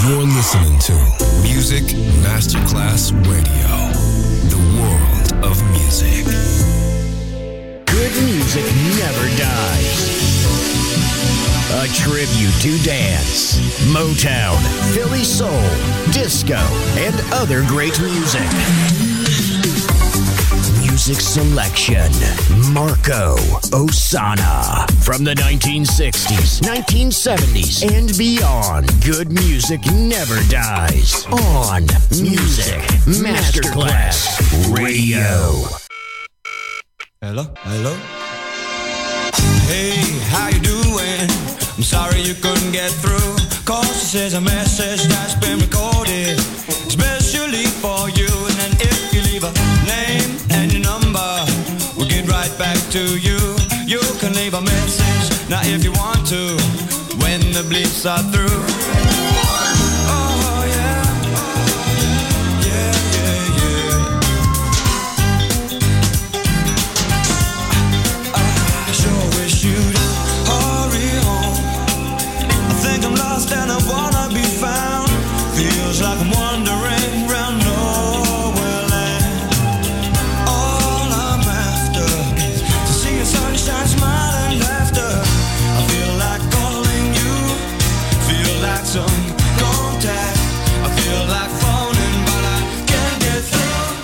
You're listening to Music Masterclass Radio, the world of music. Good music never dies. A tribute to dance, Motown, Philly soul, disco, and other great music. Music selection, Marco Ossanna. From the 1960s, 1970s, and beyond, good music never dies. On Music Masterclass Radio. Hello? Hey, how you doing? I'm sorry you couldn't get through. Cause this is a message that's been recorded especially for you. And then if you leave a name and your number, we'll get right back to you. You can leave a message now if you want to, when the bleeps are through. Oh yeah, yeah, yeah, yeah. I sure wish you'd hurry home. I think I'm lost and I wanna be found. Feels like I'm wandering round nowhere land. All I'm after is to see your sunshine, smile and laughter. I feel like calling you, feel like some contact. I feel like phoning but I can't get through.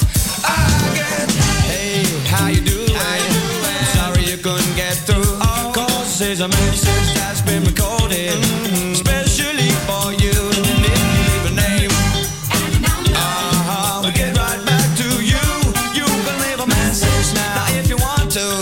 Hey, how you doing? I'm sorry you couldn't get through. Cause this is a message that's been recorded especially for you. And if you leave a name, we'll get right back to you. You can leave a message now if you want to.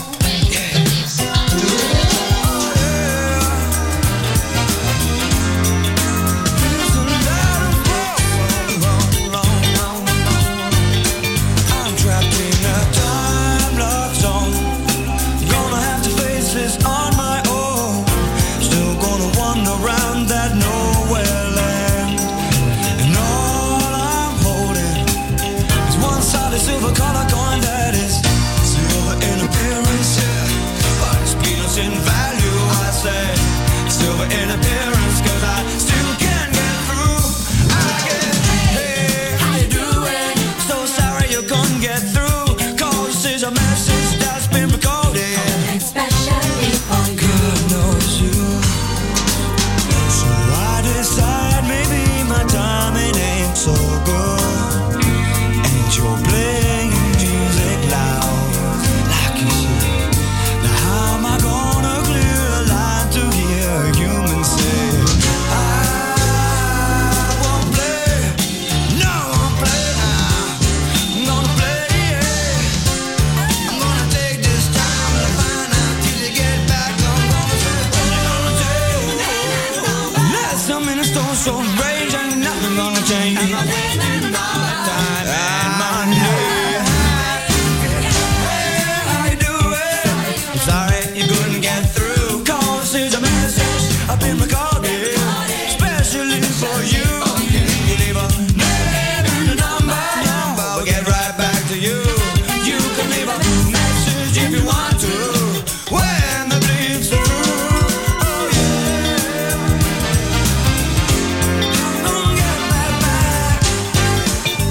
I'm trapped in a time lock zone. Gonna have to face this on my own. Still gonna wander around that nowhere land. And all I'm holding is one solid silver color coin that is silver in appearance, yeah, but it's peanuts in value. I say silver in appearance, cause I still can't get through. Hey, how you doing? So sorry you couldn't get through. Cause this is a message that's been recorded Especially for you. God knows you. So I decide maybe my timing ain't so good. And you're playing music loud, like you should. Now how am I gonna clear a line to hear a human say, I won't play, no, I won't play now. I'm gonna play, yeah. I'm gonna take this time to find out till you get back. I'm gonna say what I'm gonna do. Last some minutes don't show rage, ain't nothing gonna change. I'm not wasting all my time and money. Hey, how you doing? I'm sorry you couldn't get through. Cause this is a message I've been recorded especially for you. You leave a name and a number, we'll get right back to you. You can leave a message if you want to, when the bleeps are through. Oh yeah, I'm gonna get right back.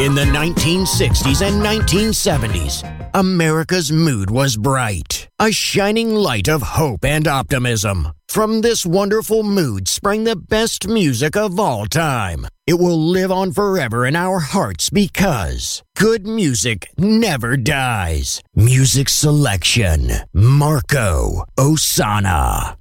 In the 1960s and 1970s, America's mood was bright, a shining light of hope and optimism. From this wonderful mood sprang the best music of all time. It will live on forever in our hearts because good music never dies. Music selection, Marco Ossanna.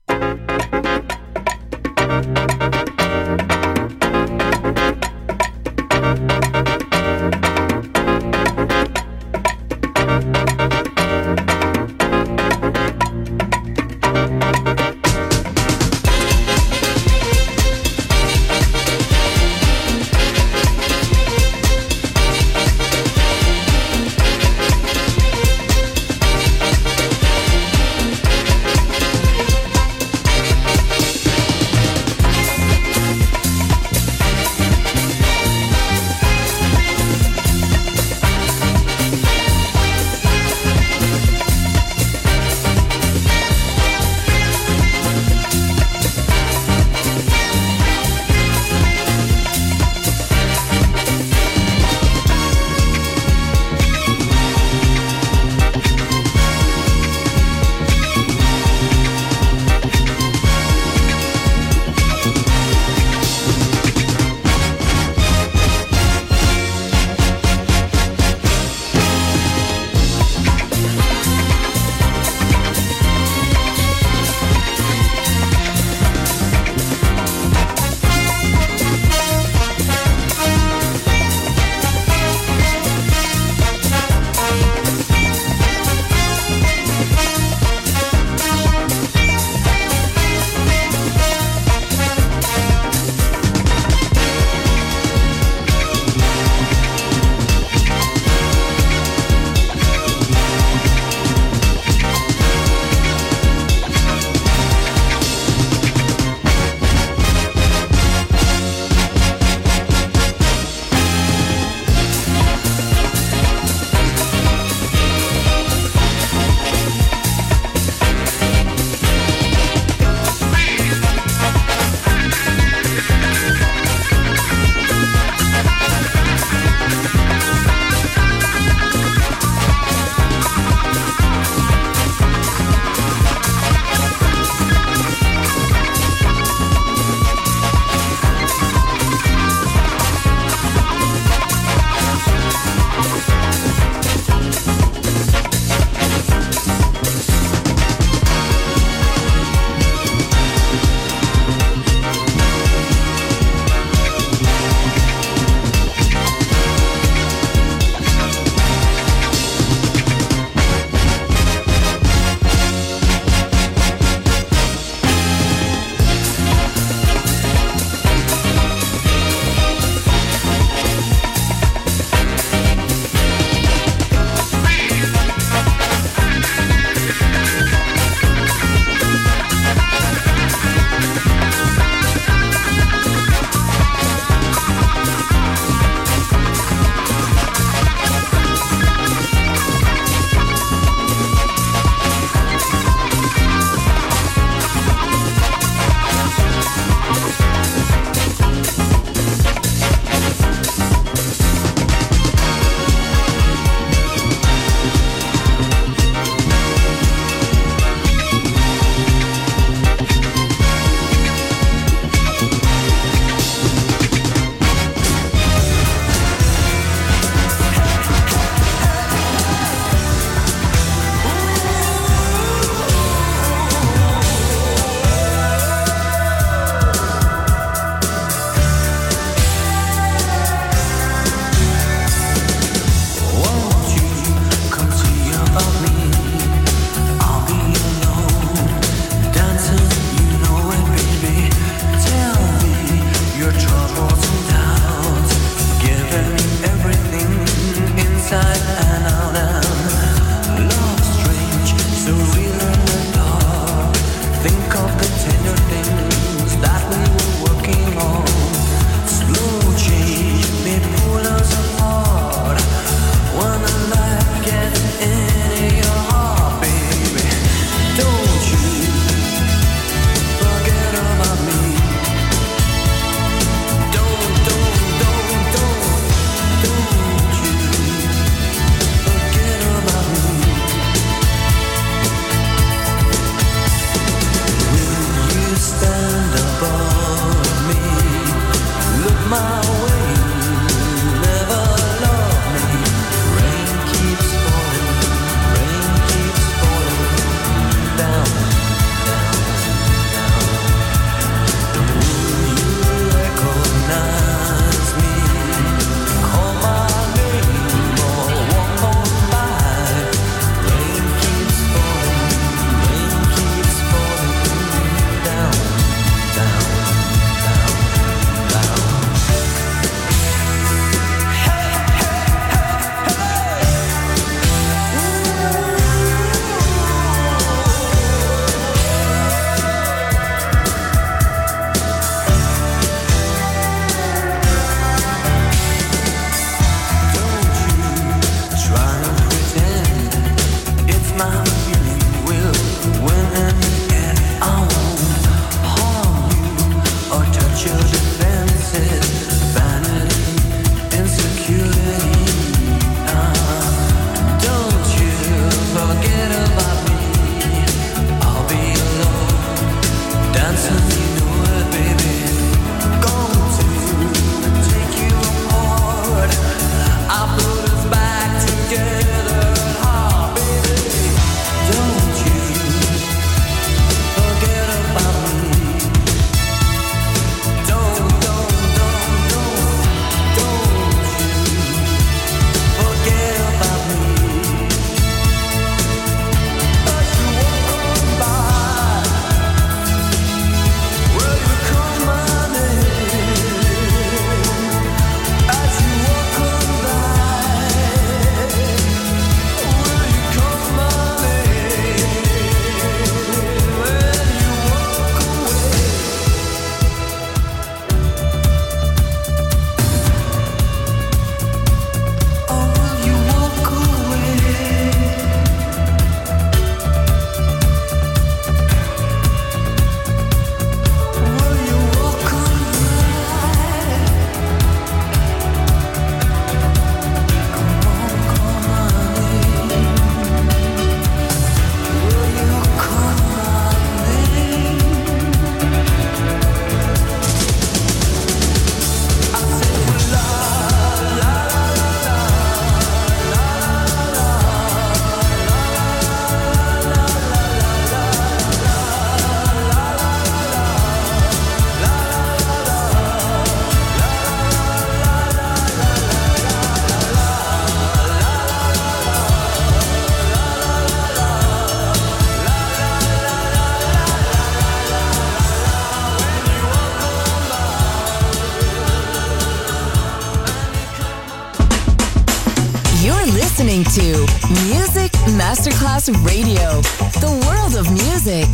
to Music Masterclass Radio, the world of music.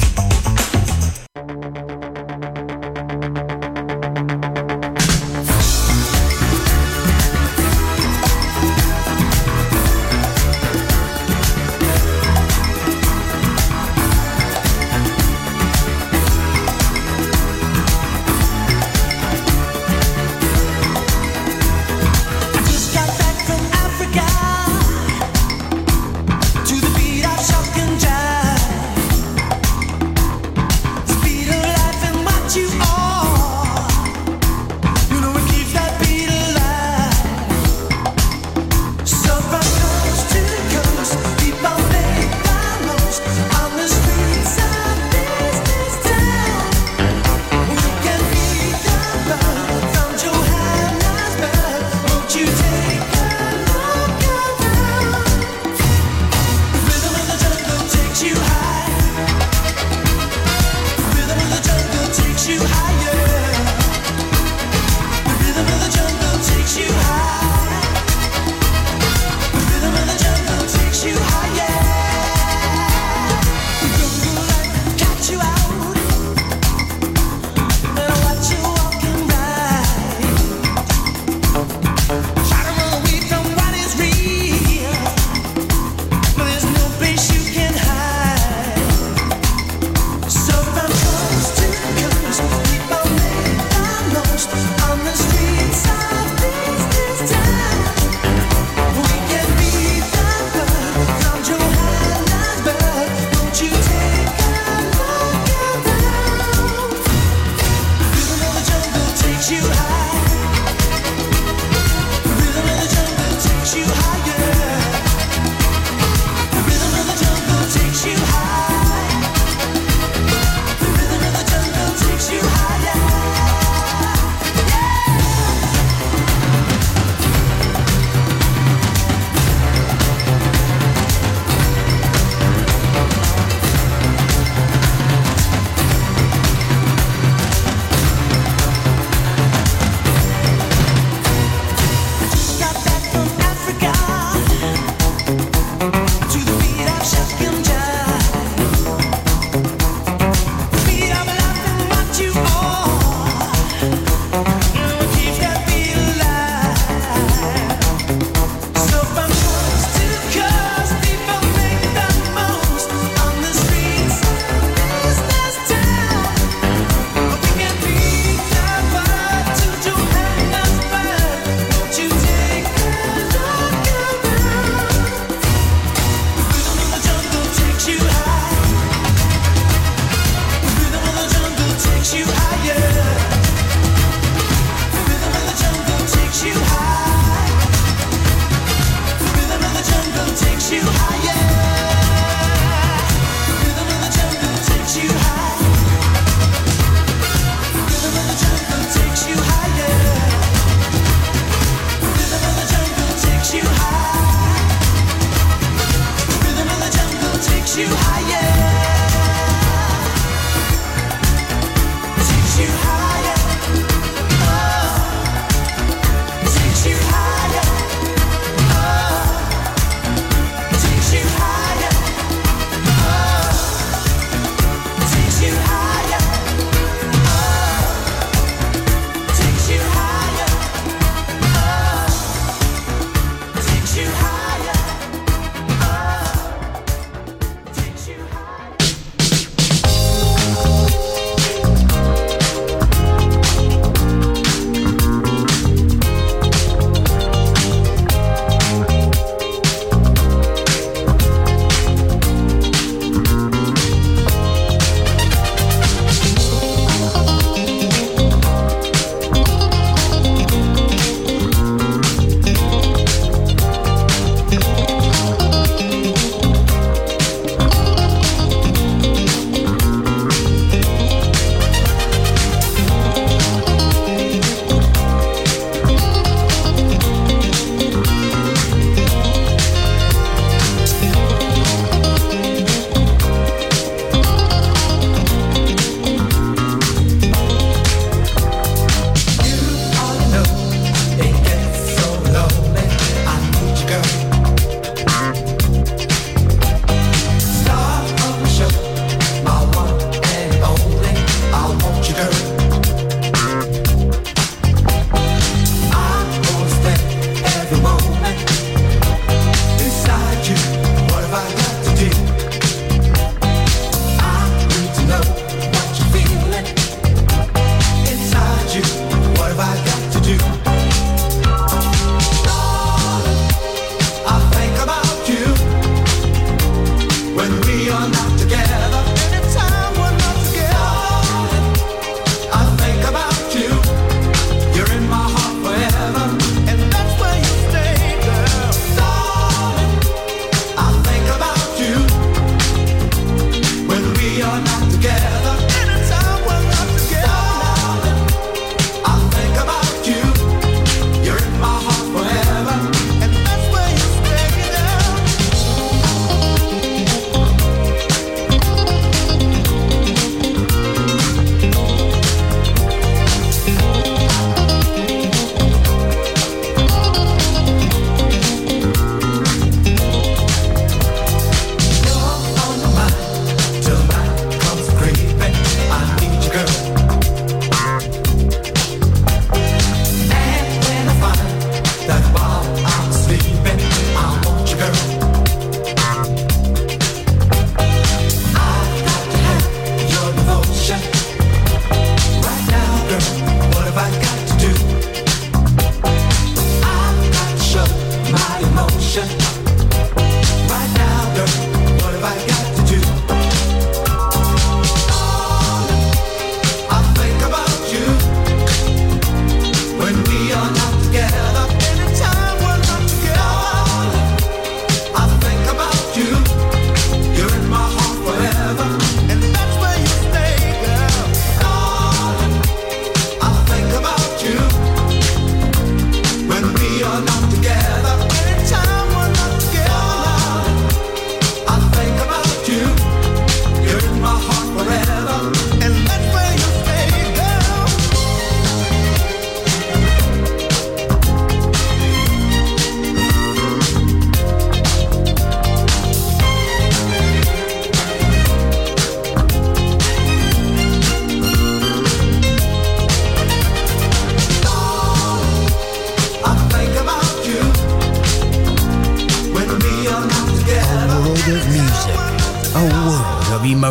To the beat of shock and jive,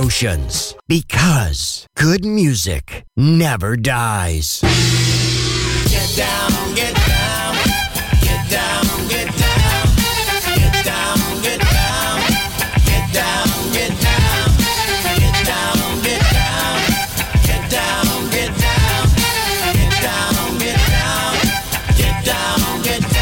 emotions. Because good music never dies. Get down, get down, get down, get down, get down, get down, get down, get down, get down, get down, get down, get down, get down, get down, get down, get down.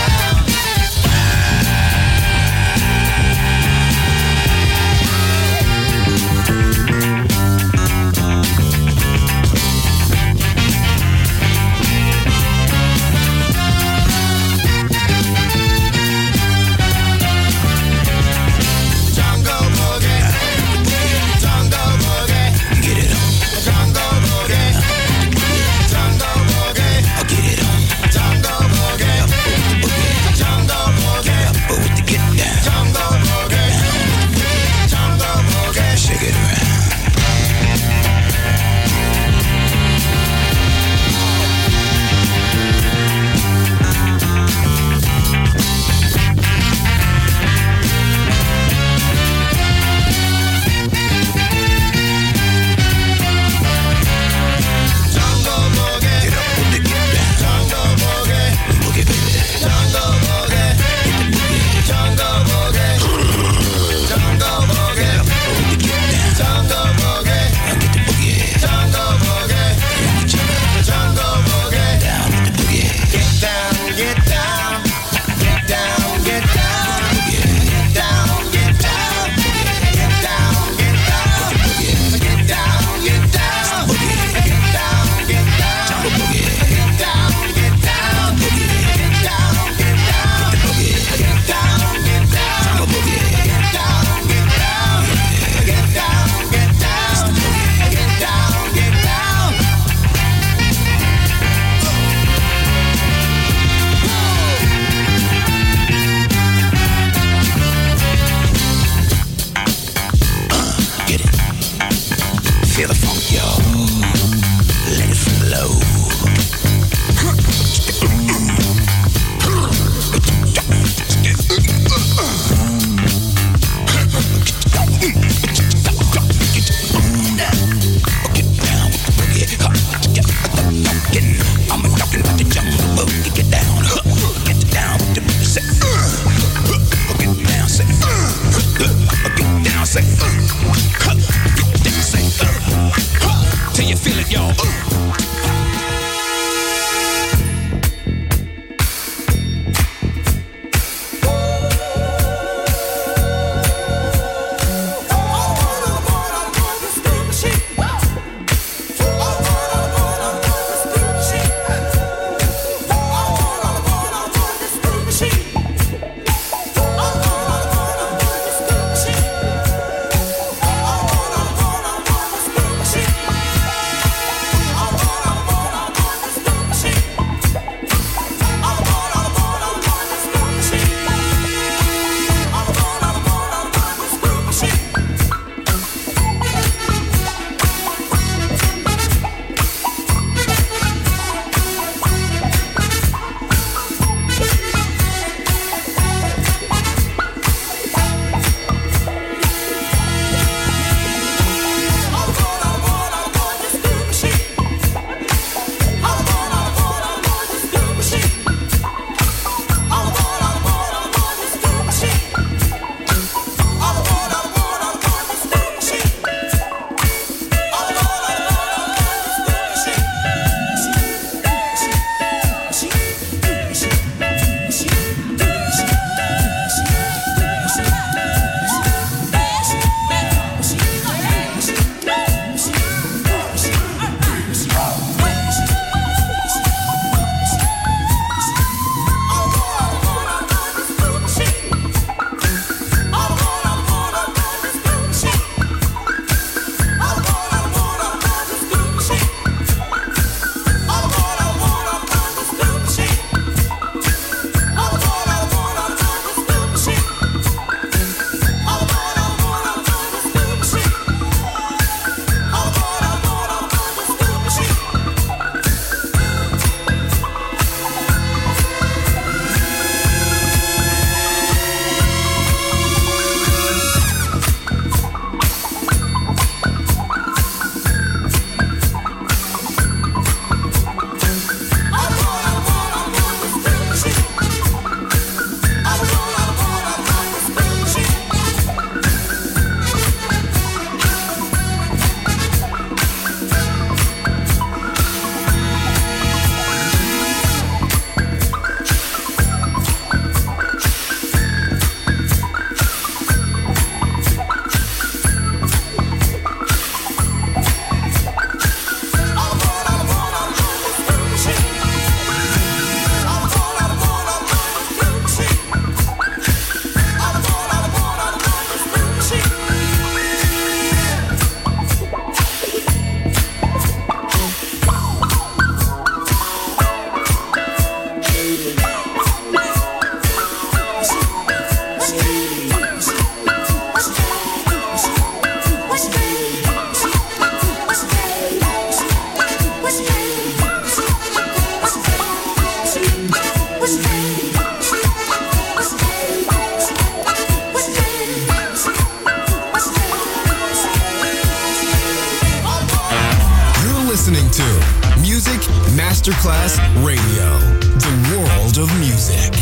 Masterclass Radio, the world of music.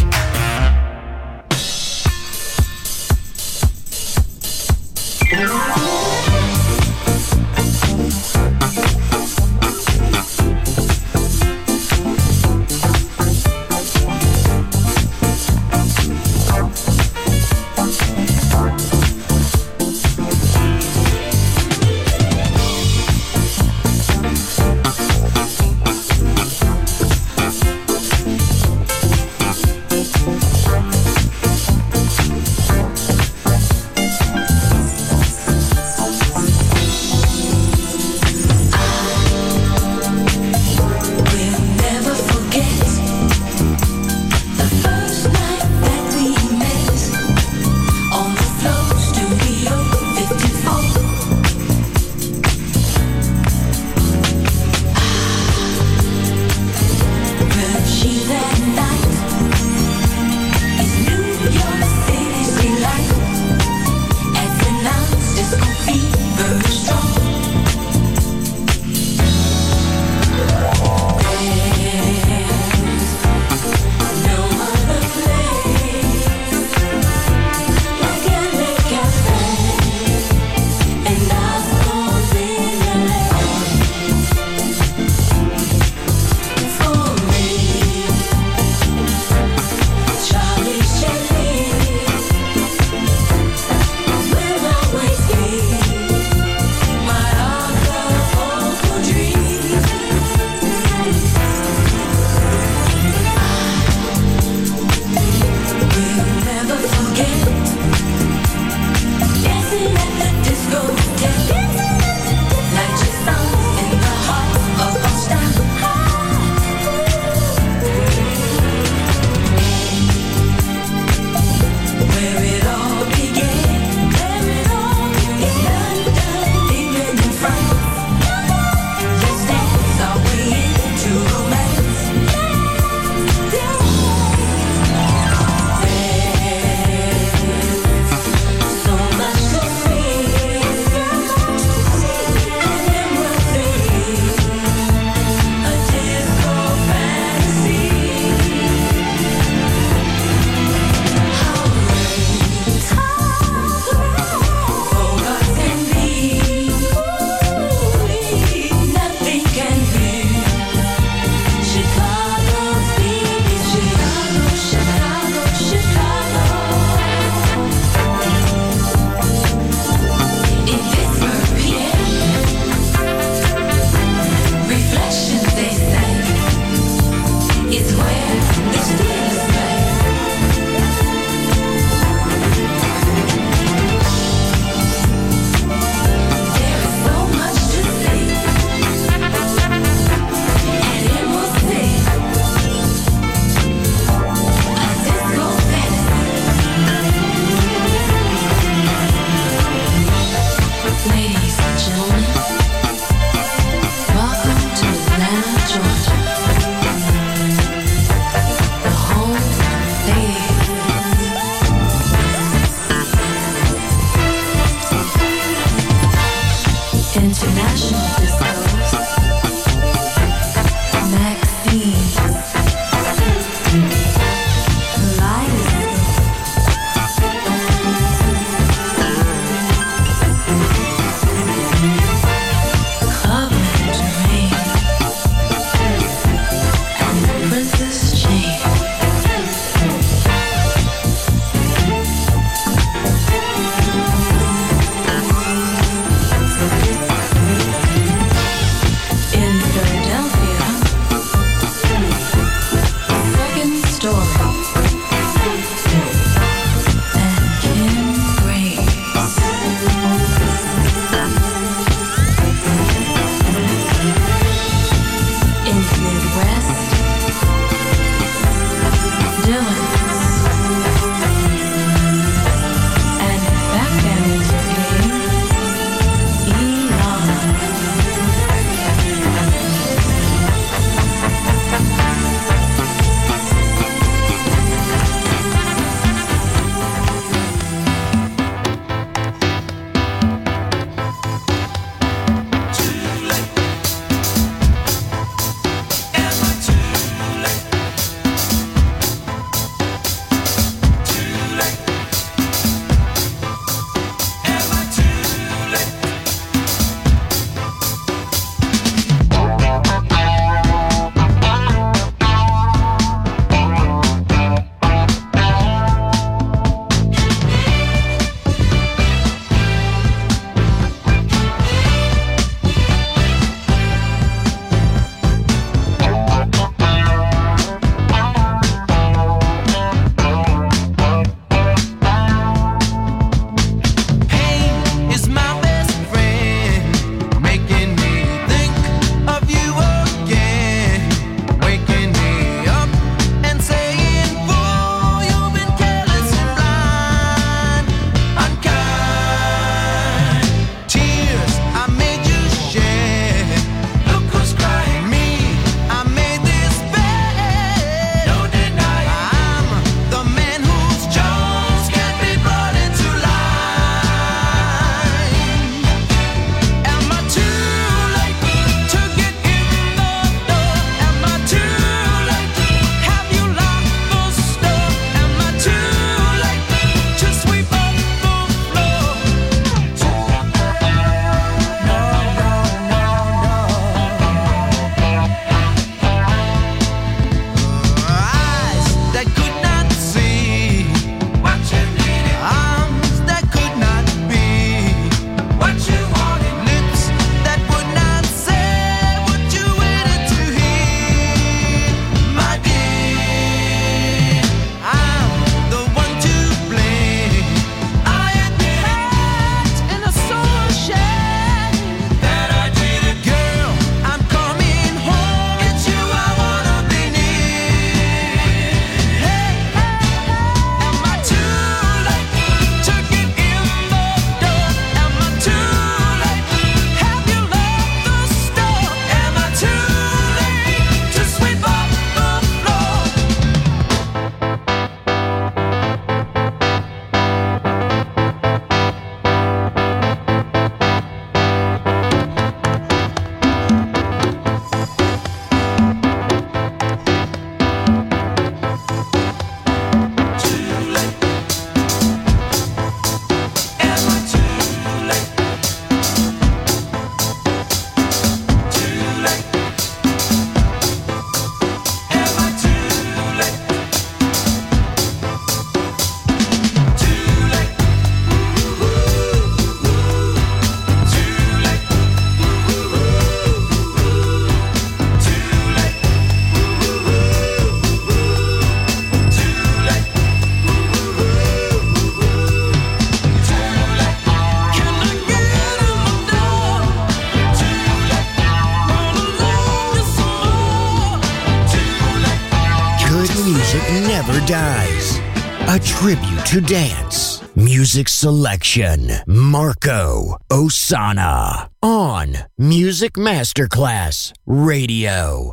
music never dies. A tribute to dance. Music selection. Marco Ossanna. On Music Masterclass Radio.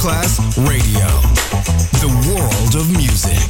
Masterclass Radio, the world of music.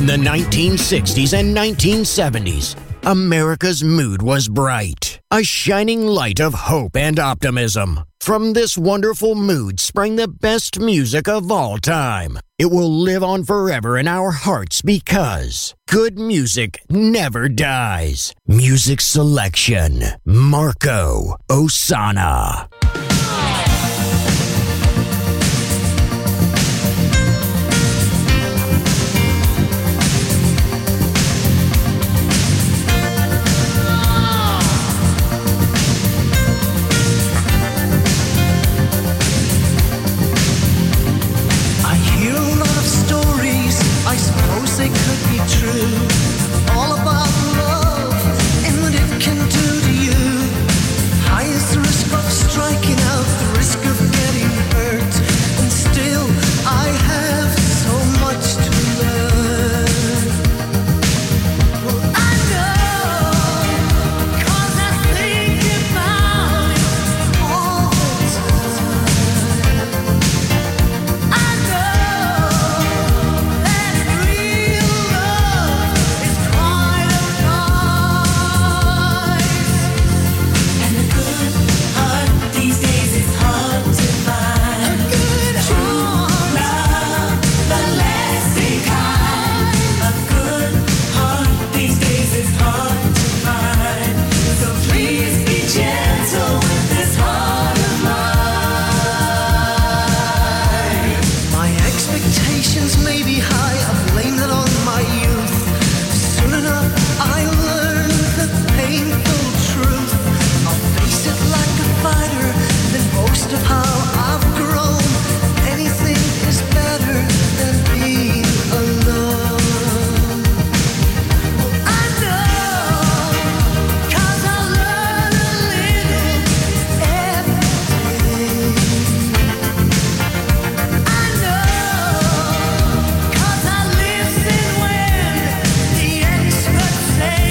the 1960s and 1970s, America's mood was bright, a shining light of hope and optimism. From this wonderful mood sprang the best music of all time. It will live on forever in our hearts because good music never dies. Music selection, Marco Ossanna. They could be true, all about love and what it can do to you. Highest risk of striking out, the risk of getting hurt, and still I have so much to learn. Well, I know, 'cause I think about it all the time. I know that real love is quite a prize, and a good heart these days is hard to find. A good heart, love, the lasting kind. A good heart these days is hard to find. So please be gentle with this heart of mine. My expectations may be high, I blame that on my youth. Soon enough I learn the painful truth. I'll face it like a fighter, then boast of how I've grown. Anything is better than being alone. I know, 'cause I learn a little every day. I know, 'cause I listen when the experts say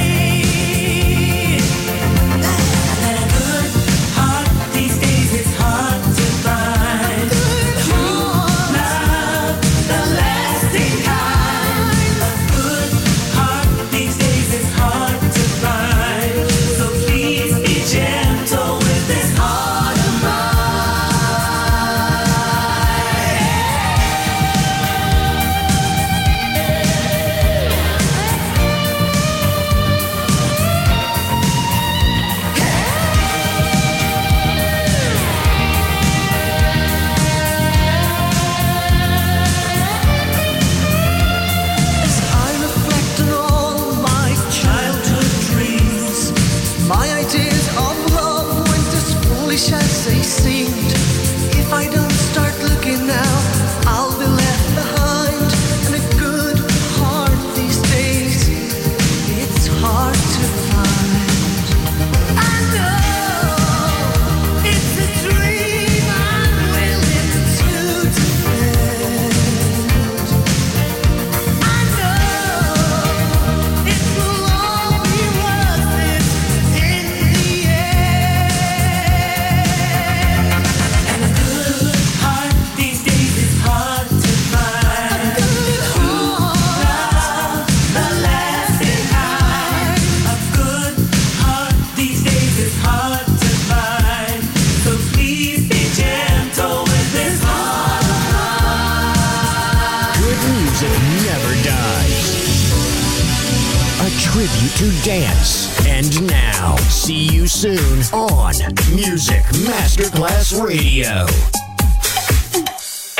that a good heart these days is hard to find. Good heart, love, the lasting kind. A good heart these days is hard to find. So please be gentle with this heart of As I reflect on all my childhood dreams, my ideas of love went as foolish as they seemed. If I don't start looking now, I'll be left behind. And a good heart these days, it's hard to find. I know it's a dream I'm willing to defend. I know it will all be worth it in the end. And a good heart these days is hard to find. A good heart, the lasting kind. A good heart these days is hard to find. So please be gentle with this heart of mine. Good music never dies. A tribute to dance. And now, see you soon on Music Masterclass Radio.